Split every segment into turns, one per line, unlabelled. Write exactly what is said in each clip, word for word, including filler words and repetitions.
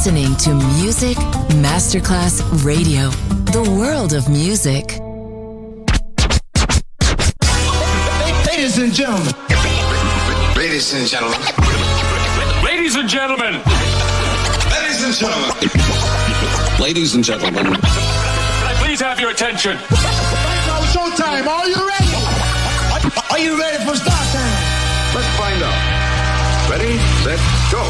listening to Music Masterclass Radio, the world of music.
Ladies and gentlemen.
Ladies and gentlemen.
Ladies and gentlemen.
Ladies and gentlemen. Ladies and gentlemen.
Can I please have your attention?
Right now, showtime. Are you ready? Are you ready for start time?
Let's find out. Ready, set, go.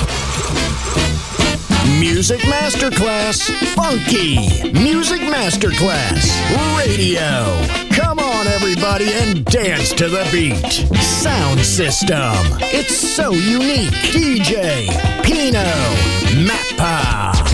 Music Masterclass Funky. Music Masterclass Radio. Come on, everybody, and dance to the beat. Sound system. It's so unique. D J Pino Mappa.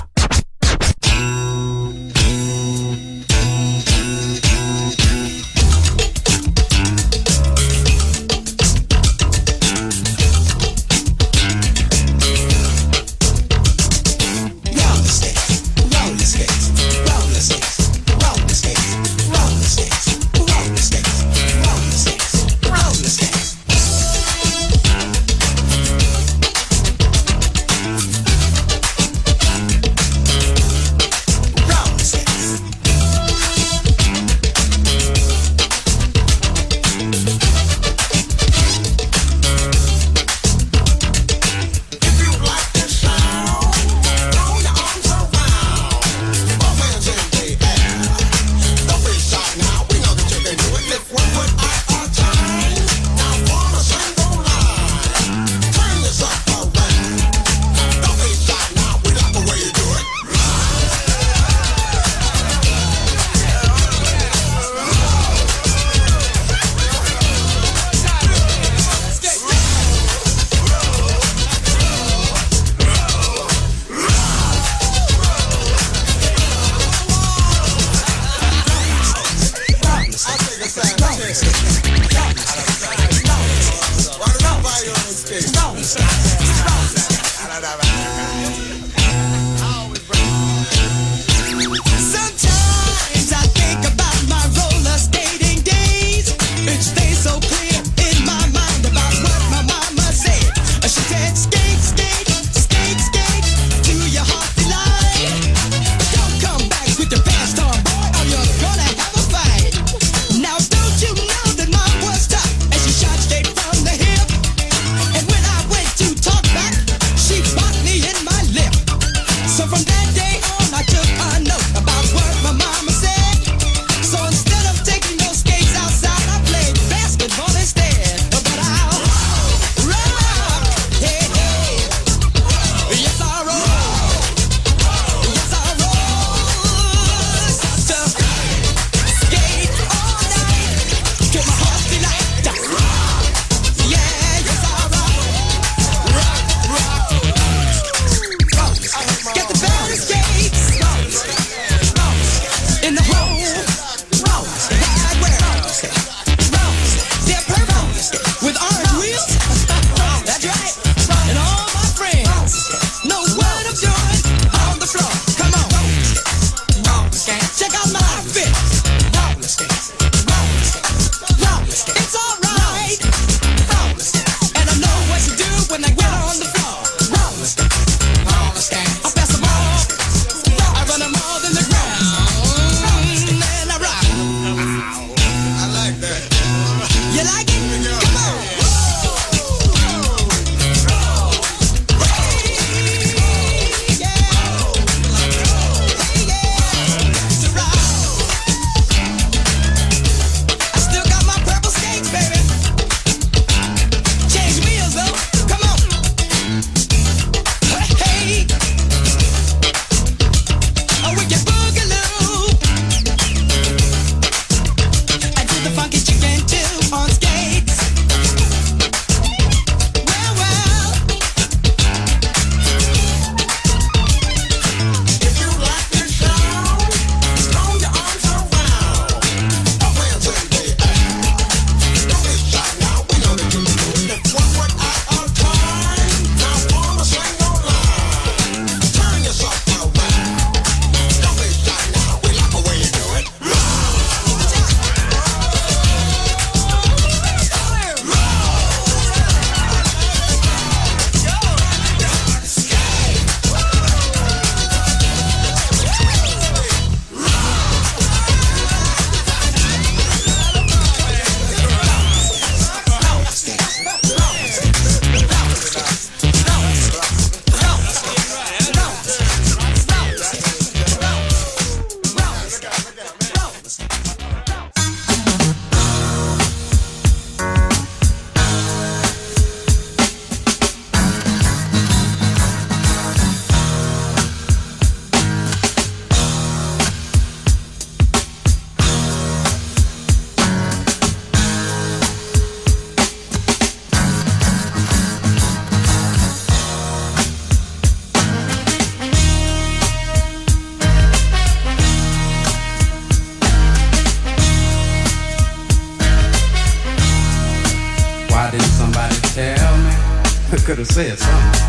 could have said something.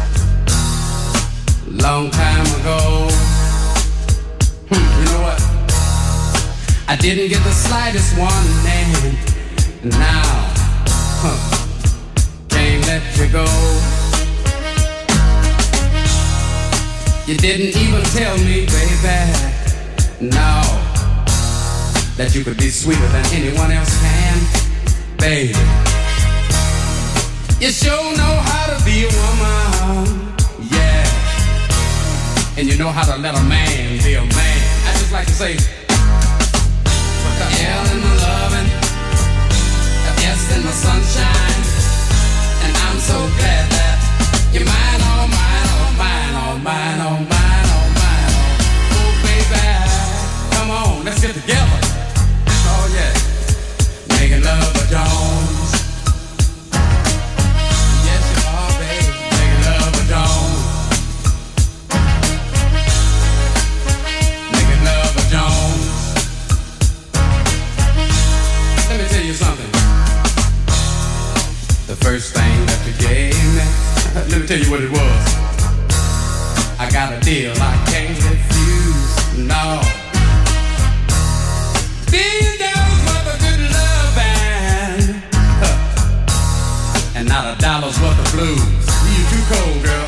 Long time ago. Hmm, you know what? I didn't get the slightest warning. Now, huh, can't let you go. You didn't even tell me, baby, no, that you could be sweeter than anyone else can, baby. You sure know how to be a woman, yeah. And you know how to let a man be a man. I just like to say, put the L in the loving, the S in the sunshine, and I'm so glad that you're mine, oh mine, oh mine, oh mine, oh mine, oh mine, oh, oh baby, come on, let's get together. Oh yeah, making love with Jones. Yes you are, baby, making love with Jones. Making love with Jones. Let me tell you something. The first thing that you gave me, let me tell you what it was. I got a deal I can't refuse, no. Billion dollars worth of good loving, huh. And not a dollar's worth of blues. You too cold, girl.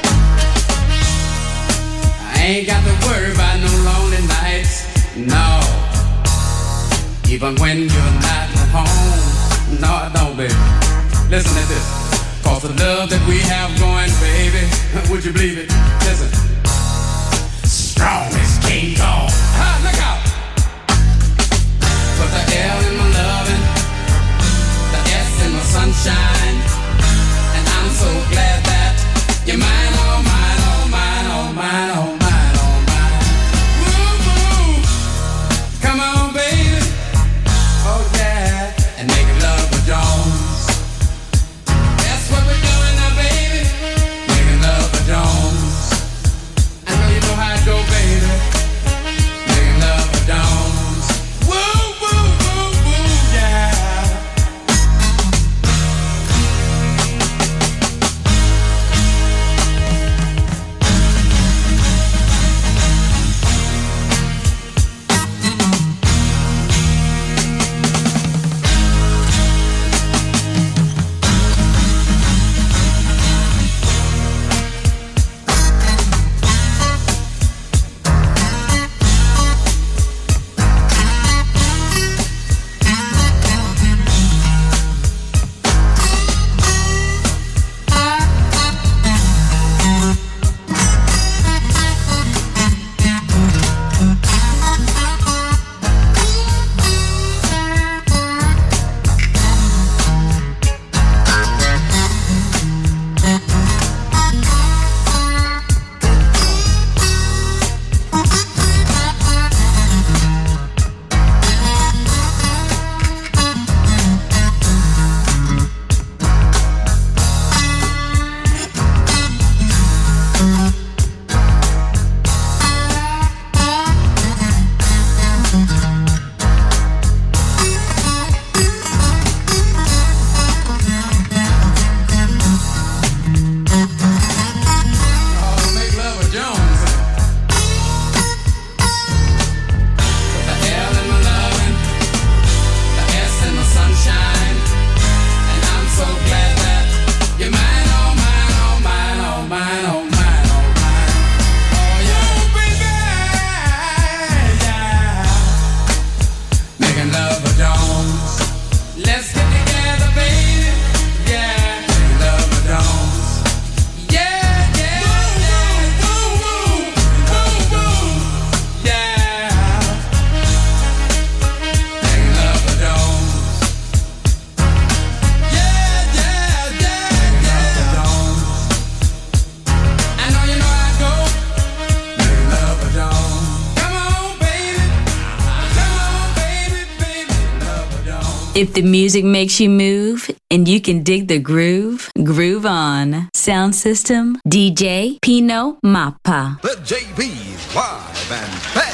I ain't got to worry about no lonely nights, no. Even when you're not at home, no I don't, baby. Listen to this. Cause the love that we have going, baby, would you believe it? Listen. Strong as King Kong. Ha, look out. Put the L in my loving, the S in my sunshine, and I'm so glad that you're mine, oh mine, oh mine, oh mine, oh mine, oh mine. Woo, woo. Come on, baby. Oh yeah. And make love with Jones. What we're doing now, baby, making love with Jones. I know you know how it go, baby, making love with Jones. Woo, woo, woo, woo, yeah.
If the music makes you move and you can dig the groove, groove on. Sound system, D J Pino Mappa.
The J B's live and back.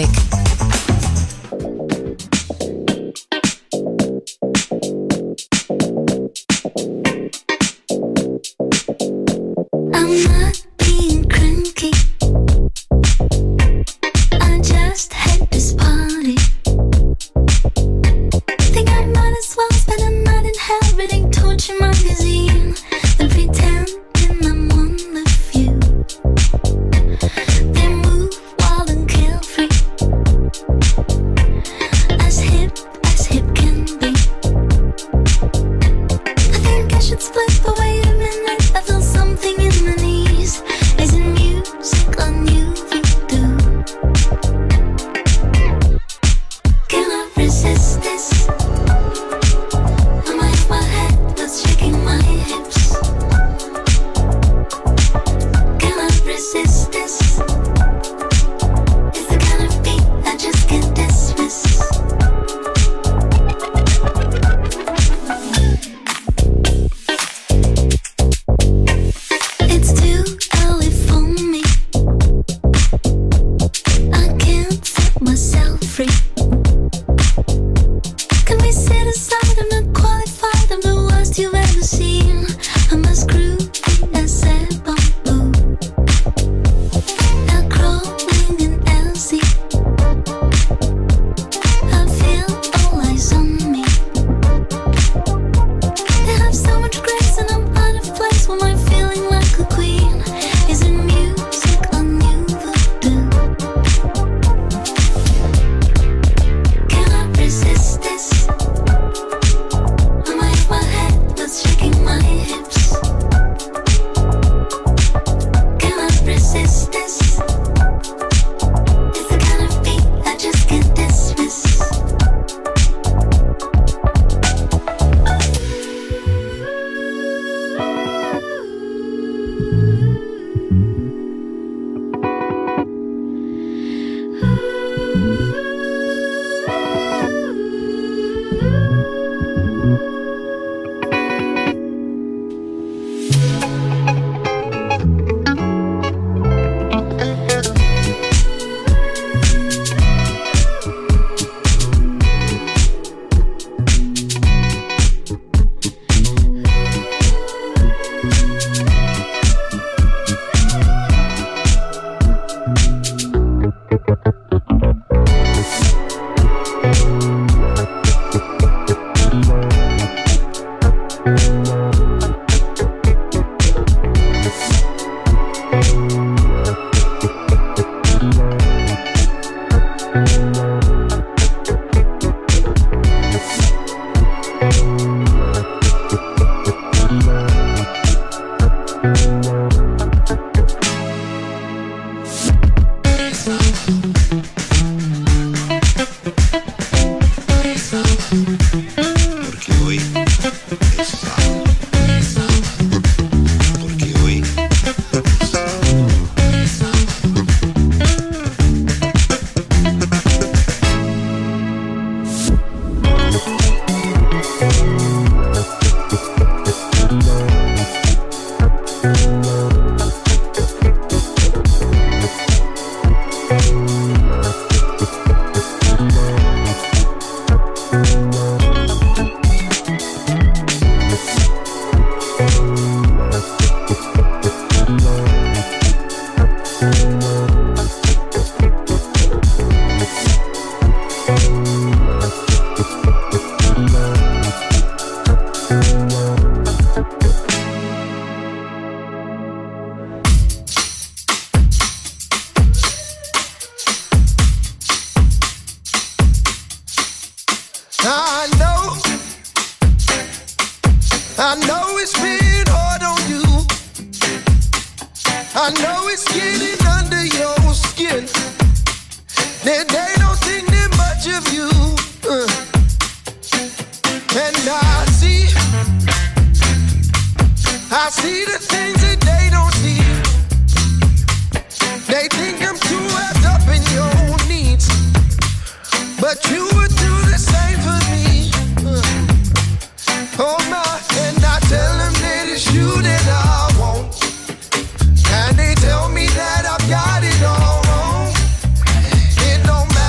music.
I'm not being cranky. I just had this party. Think I might as well spend a night in hell reading Torture magazine than pretending I'm one of you. They move wild and carefree, as hip as hip can be. I think I should split, but wait a minute, I feel something in my knees. Is it music or new voodoo? Can I resist this? Am I in my head that's shaking my hips? Can I resist this? It's the kind of beat I just can't dismiss. It's too early for me. I can't set myself free. Can we sit aside? I'm not qualified. I'm the worst you've ever seen. I'm as groovy as a bamboo. Now crawling in Elsie. I feel all eyes on me. They have so much grace and I'm out of place. When I'm feeling like a queen. Is it music or new voodoo? Can I resist this? Am I in my head that's shaking my hips? Can I resist this? It's the kind of beat I just can't dismiss.
Porque hoy es sábado. Porque hoy es sábado.
I know, I know it's been hard on you. I know it's getting under your skin. They, they don't think that much of you. Uh. And I see, I see the things that they don't see. They think I'm too wrapped up in your needs, but you would do the same for me. Uh. Oh my, and I tell them that it's you that I want, and they tell me that I've got it all wrong. It don't matter.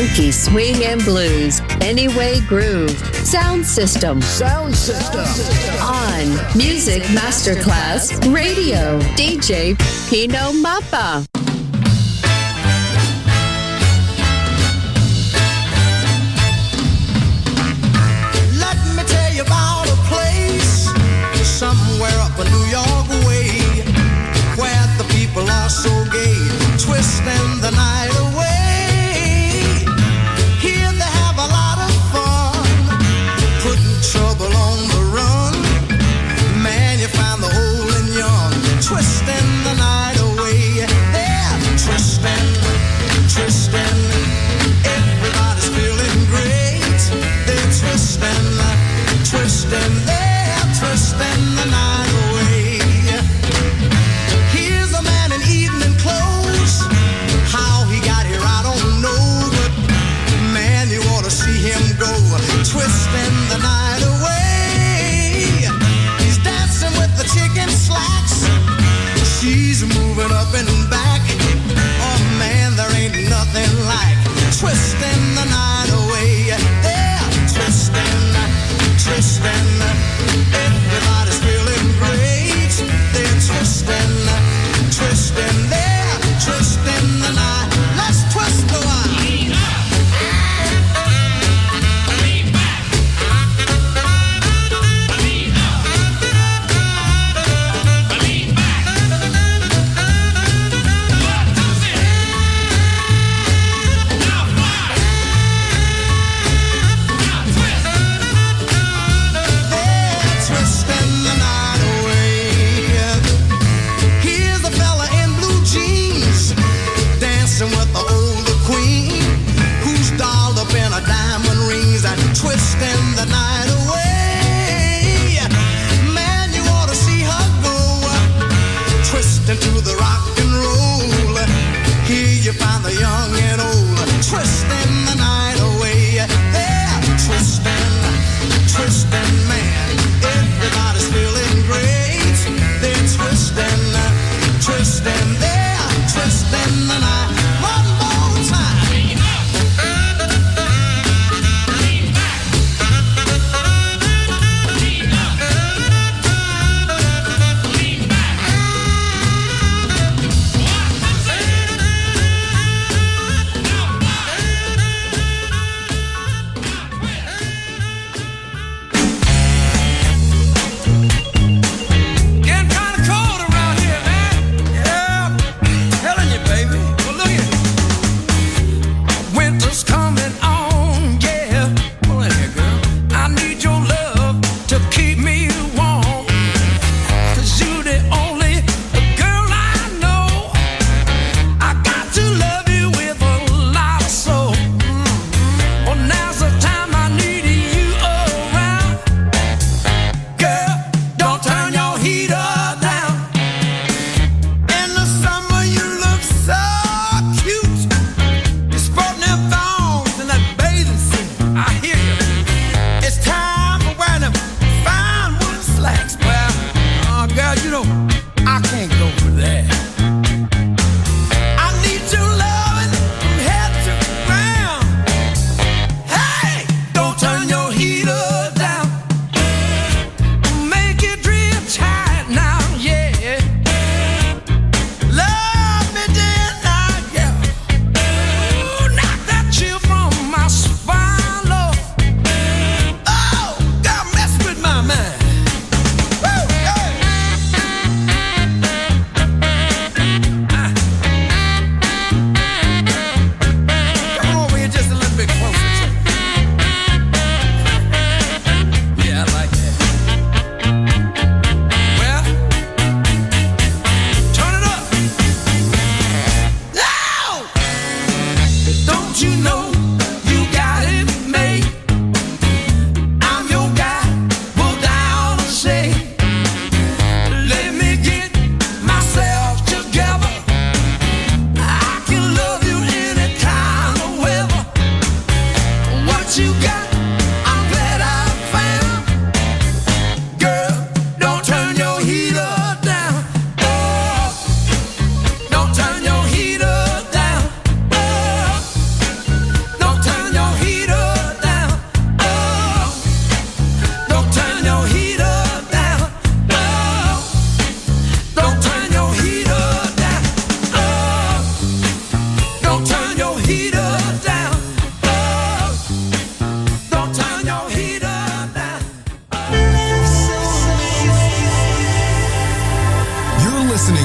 funky swing and blues. Anyway Groove. Sound System.
Sound System.
On Music Masterclass Radio. D J Pino Mappa.
Let me tell you about a place somewhere up a New York way where the people are so gay, twisting the night away. Here they have a lot of fun, putting trouble on the run. Man, you find the old and young, twisting the night away. They're twisting, twisting. Everybody's feeling great. They're twisting, twisting. They're twisting the night away. Here's a man in evening clothes. How he got here, I don't know. But man, you ought to see him go, twisting the night away. He's dancing with the chicken slacks. She's moving up and back. Oh man, there ain't nothing like twisting the night away. They're twisting, twisting. Everybody's feeling great. They're twisting, twisting. They're twisting the night. Let's twist the wine. With the older queen who's dolled up in a diamond rings and twisting the night away. Man, you ought to see her go, twisting to the rock and roll. Here you find the young and old, twisting the night away. They're twisting, twisting, man. Everybody's feeling great. They're twisting, twisting. They're twisting the night.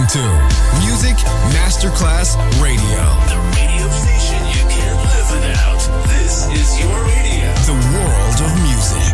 to Music Masterclass Radio.
The radio station you can't live without. This is your radio.
The world of music.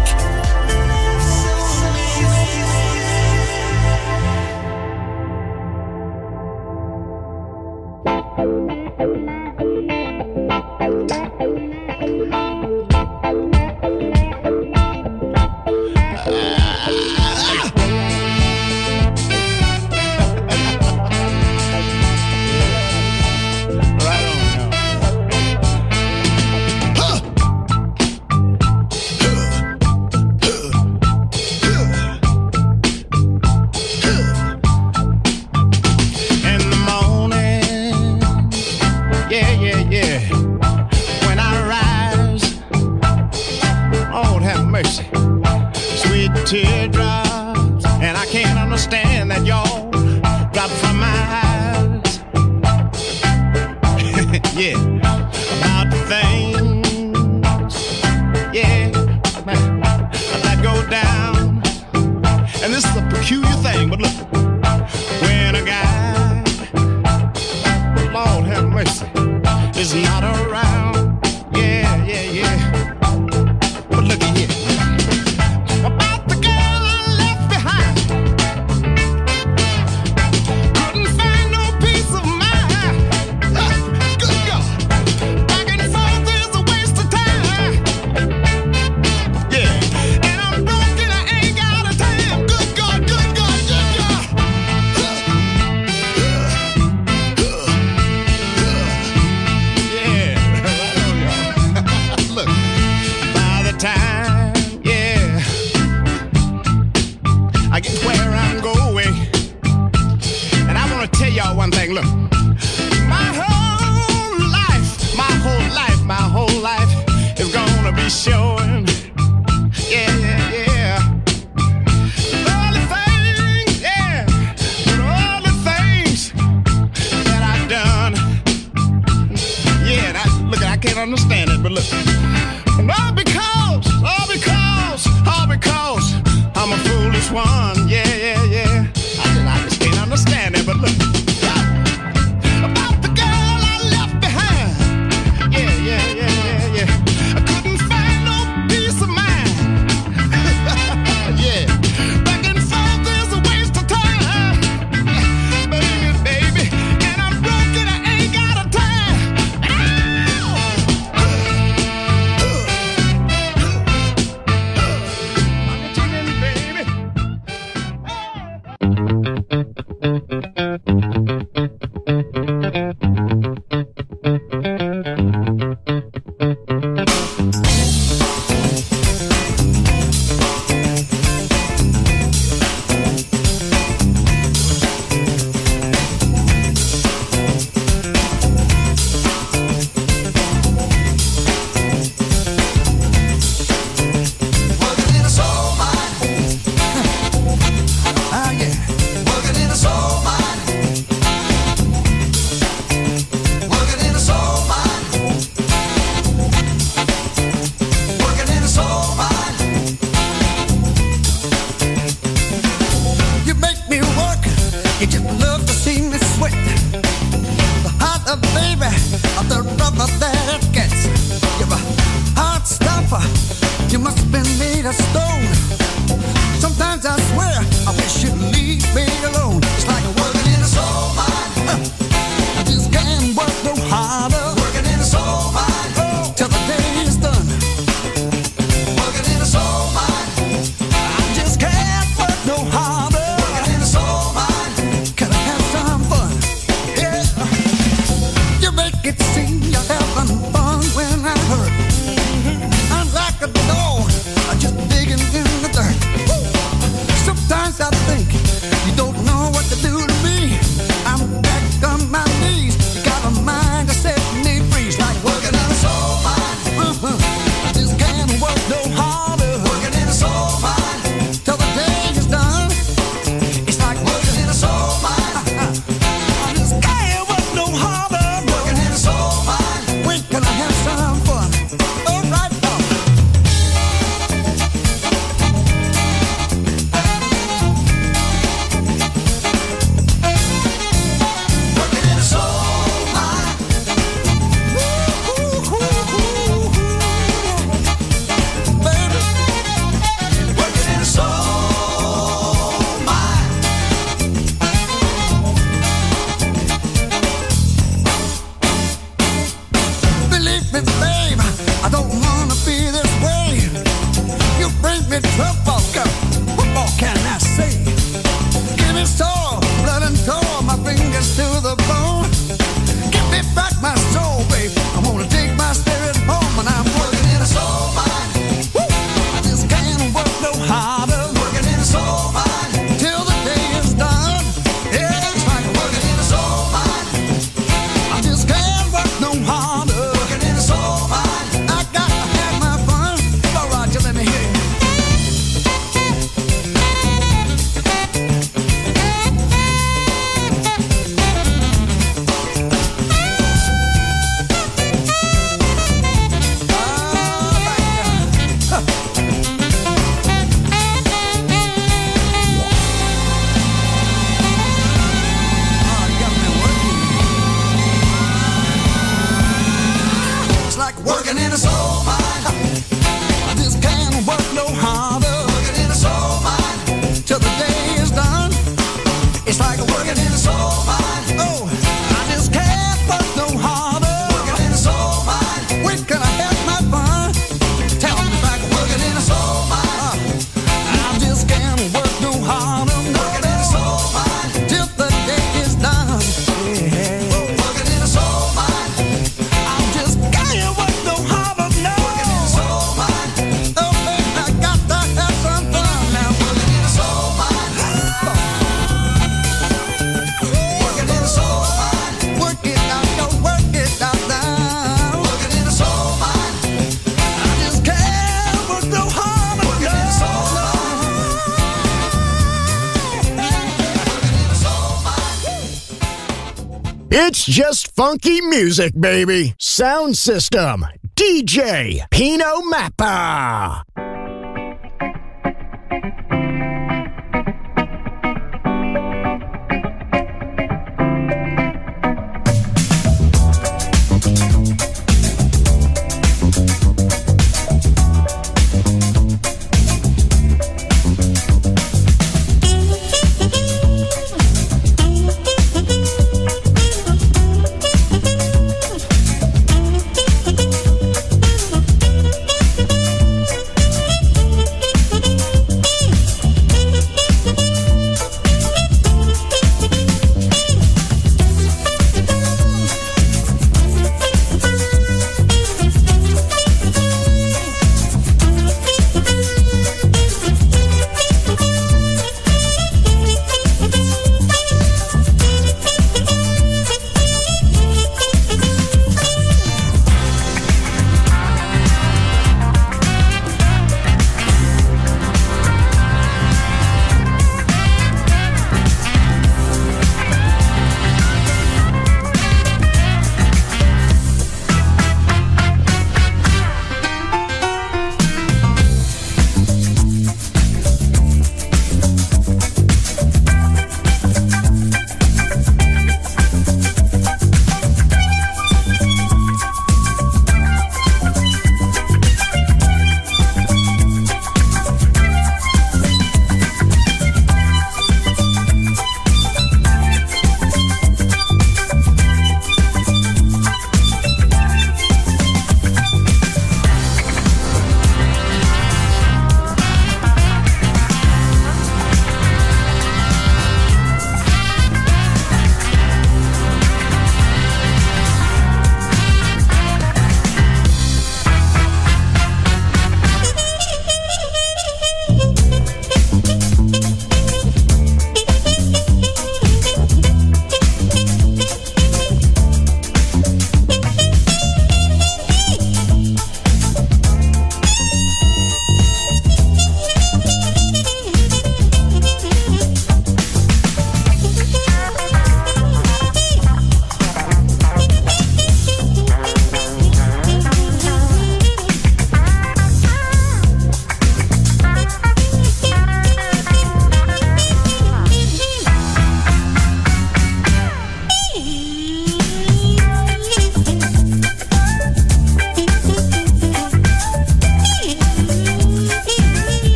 me trouble, girl. What more can I say? Give me soul, blood and soul, my fingers to the bone. Give me back my soul, babe. I wanna take my spirit home, and I'm working in a soul mine. Woo! I just can't work no harder. Working in a soul mine till the day is done. Yeah, it's like working in a soul mine. I just can't work no harder. Working in a soul mine. I got to have my fun. All right, you let me hear you. Working in a soul mine. I just can't work no harder. Working in a soul mine till the day is done. It's like working in a soul mine. Oh, I just can't work no harder. Working in a soul mine. When can I have my fun? Tell me if I can working in a soul mine. I just can't work no harder. Working in a soul mine till the day is done. Yeah. Working in a soul mine. I just can't work.
It's just funky music, baby. Sound System, D J Pino Mappa.
We'll be right back.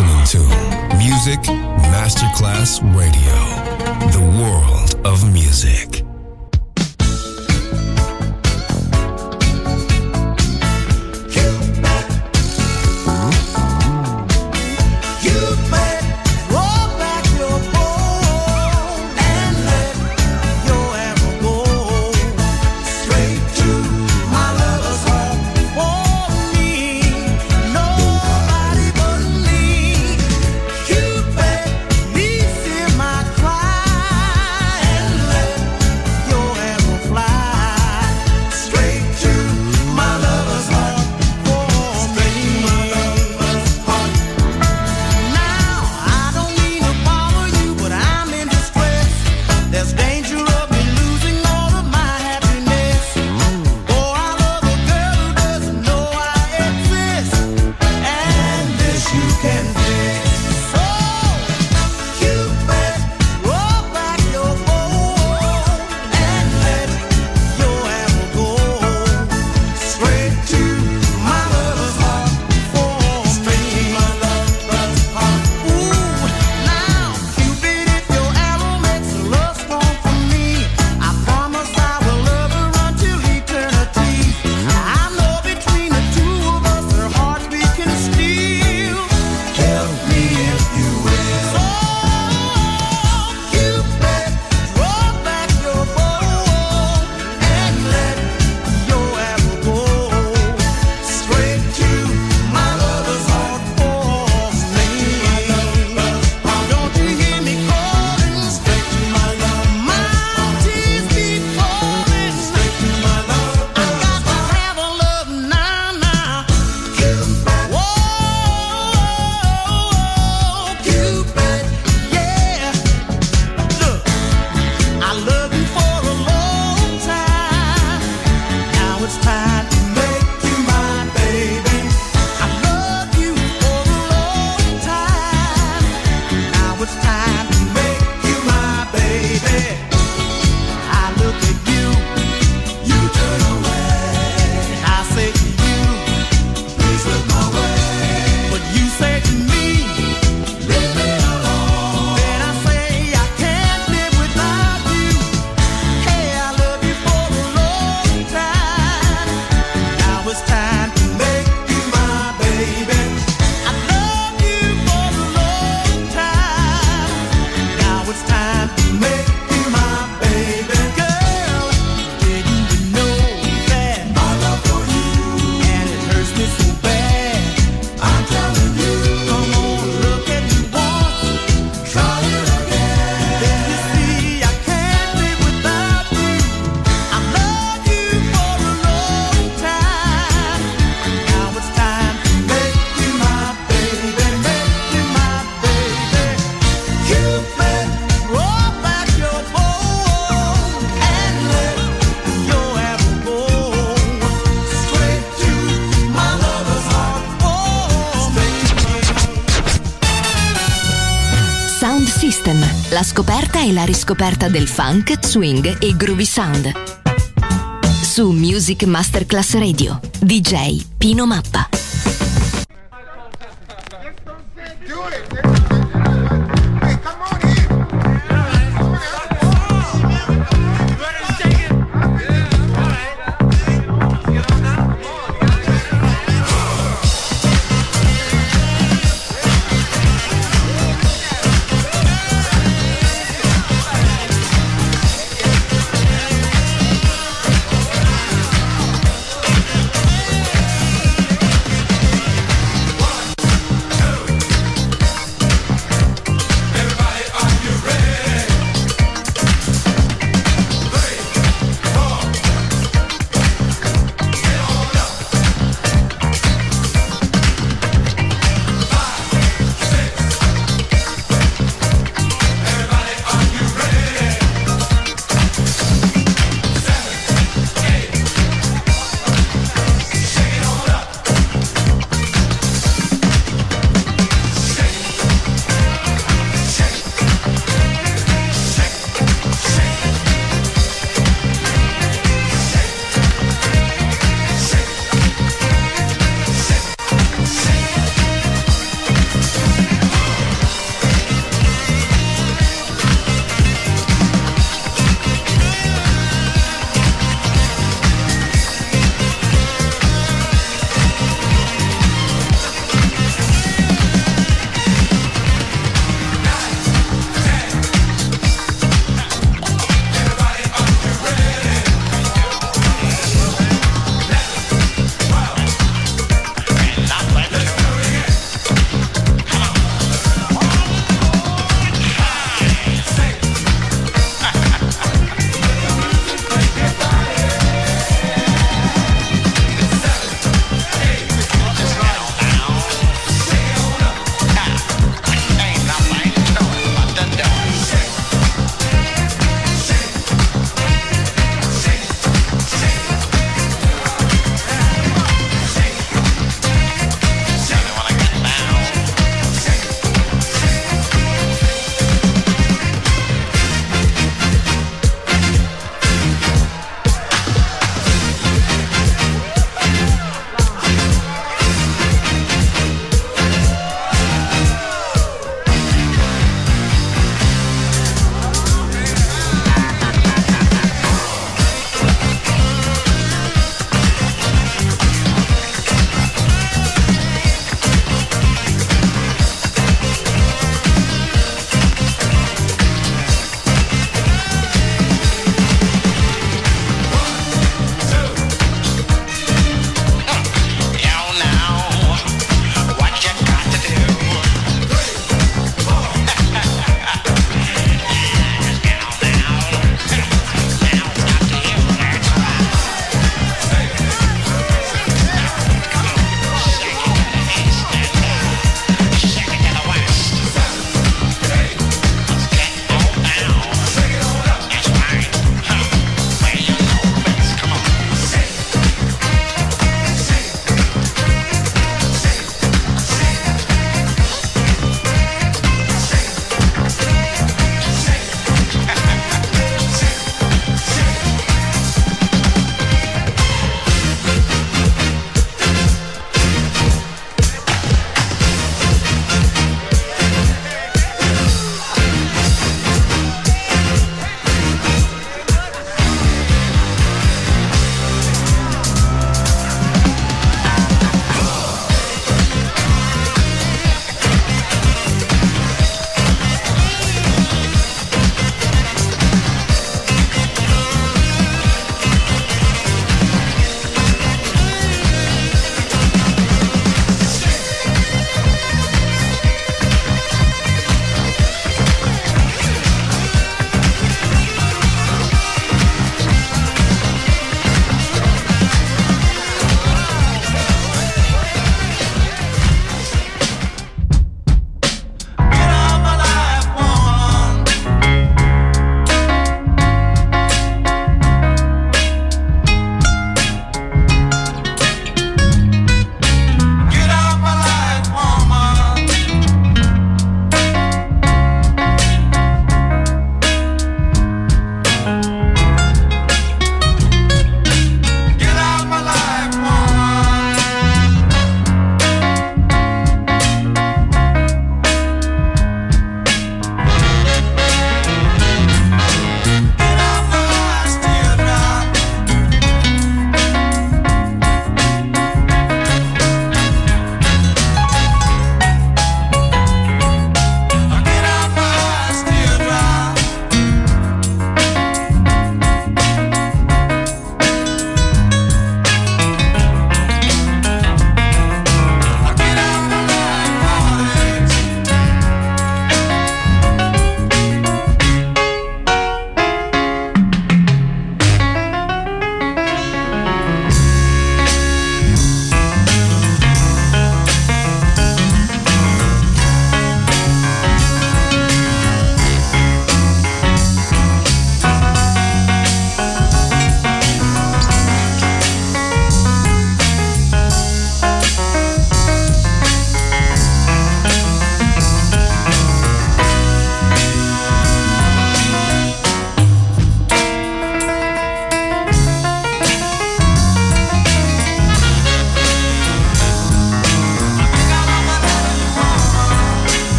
listening to Music Masterclass Radio, the world of music.
La scoperta e la riscoperta del funk, swing e groovy sound. Su Music Masterclass Radio, D J Pino Mappa.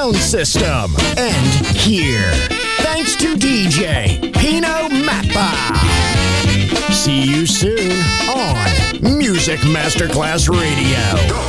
sound system, and here. Thanks to D J Pino Mappa. See you soon on Music Masterclass Radio.